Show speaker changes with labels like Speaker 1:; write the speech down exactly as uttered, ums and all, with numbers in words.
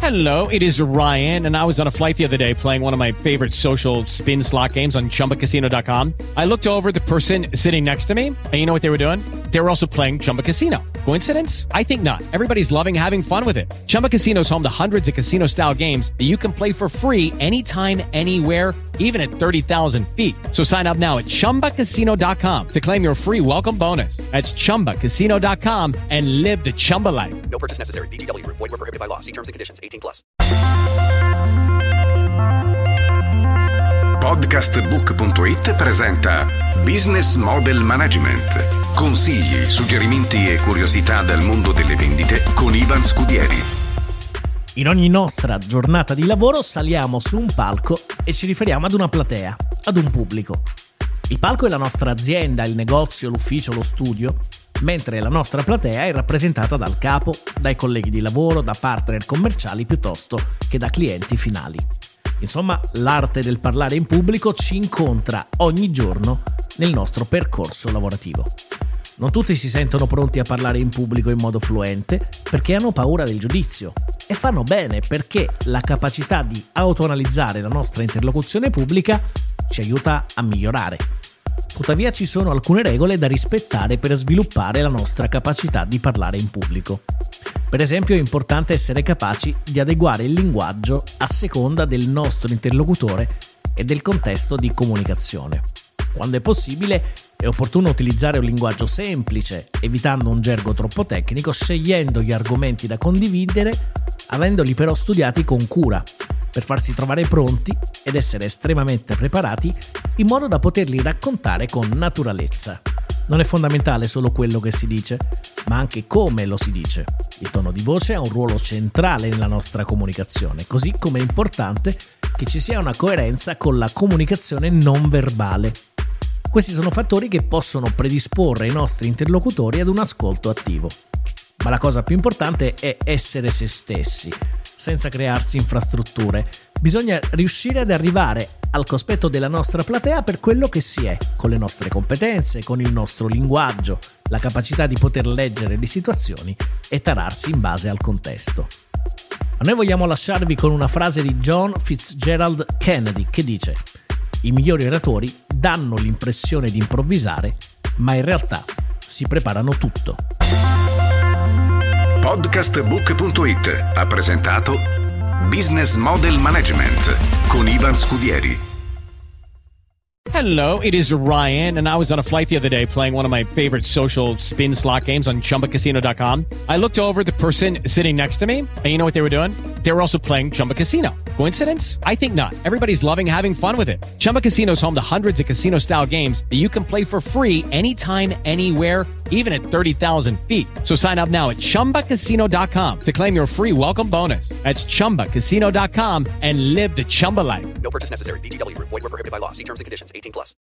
Speaker 1: Hello, it is Ryan, and I was on a flight the other day playing one of my favorite social spin slot games on Chumba Casino dot com. I looked over at the person sitting next to me, and you know what they were doing? They were also playing Chumba Casino. Coincidence? I think not. Everybody's loving having fun with it. Chumba Casino is home to hundreds of casino-style games that you can play for free anytime, anywhere, even at thirty thousand feet. So sign up now at Chumba Casino dot com to claim your free welcome bonus. That's Chumba Casino dot com and live the Chumba life.
Speaker 2: No purchase necessary. V G W. Void where prohibited by law. See terms and conditions. eighteen plus.
Speaker 3: Podcastbook punto it presenta Business Model Management. Consigli, suggerimenti e curiosità dal mondo delle vendite con Ivan Scudieri.
Speaker 4: In ogni nostra giornata di lavoro saliamo su un palco e ci riferiamo ad una platea, ad un pubblico. Il palco è la nostra azienda, il negozio, l'ufficio, lo studio, mentre la nostra platea è rappresentata dal capo, dai colleghi di lavoro, da partner commerciali piuttosto che da clienti finali. Insomma, l'arte del parlare in pubblico ci incontra ogni giorno nel nostro percorso lavorativo. Non tutti si sentono pronti a parlare in pubblico in modo fluente perché hanno paura del giudizio e fanno bene perché la capacità di autoanalizzare la nostra interlocuzione pubblica ci aiuta a migliorare. Tuttavia ci sono alcune regole da rispettare per sviluppare la nostra capacità di parlare in pubblico. Per esempio è importante essere capaci di adeguare il linguaggio a seconda del nostro interlocutore e del contesto di comunicazione. Quando è possibile è opportuno utilizzare un linguaggio semplice, evitando un gergo troppo tecnico, scegliendo gli argomenti da condividere, avendoli però studiati con cura, per farsi trovare pronti ed essere estremamente preparati in modo da poterli raccontare con naturalezza. Non è fondamentale solo quello che si dice, ma anche come lo si dice. Il tono di voce ha un ruolo centrale nella nostra comunicazione, così come è importante che ci sia una coerenza con la comunicazione non verbale. Questi sono fattori che possono predisporre i nostri interlocutori ad un ascolto attivo. Ma la cosa più importante è essere se stessi, senza crearsi infrastrutture. Bisogna riuscire ad arrivare al cospetto della nostra platea per quello che si è, con le nostre competenze, con il nostro linguaggio, la capacità di poter leggere le situazioni e tararsi in base al contesto. Ma noi vogliamo lasciarvi con una frase di John Fitzgerald Kennedy che dice: i migliori oratori danno l'impressione di improvvisare, ma in realtà si preparano tutto.
Speaker 3: Podcastbook punto it ha presentato Business Model Management con Ivan Scudieri.
Speaker 1: Hello, it is Ryan, and I was on a flight the other day playing one of my favorite social spin slot games on Chumba Casino dot com. I looked over at the person sitting next to me, and you know what they were doing? They were also playing Chumba Casino. Coincidence? I think not. Everybody's loving having fun with it. Chumba Casino is home to hundreds of casino-style games that you can play for free anytime, anywhere, even at thirty thousand feet. So sign up now at Chumba Casino dot com to claim your free welcome bonus. That's Chumba Casino dot com and live the Chumba life.
Speaker 2: No purchase necessary. V G W. Void where prohibited by law. See terms and conditions. eighteen plus.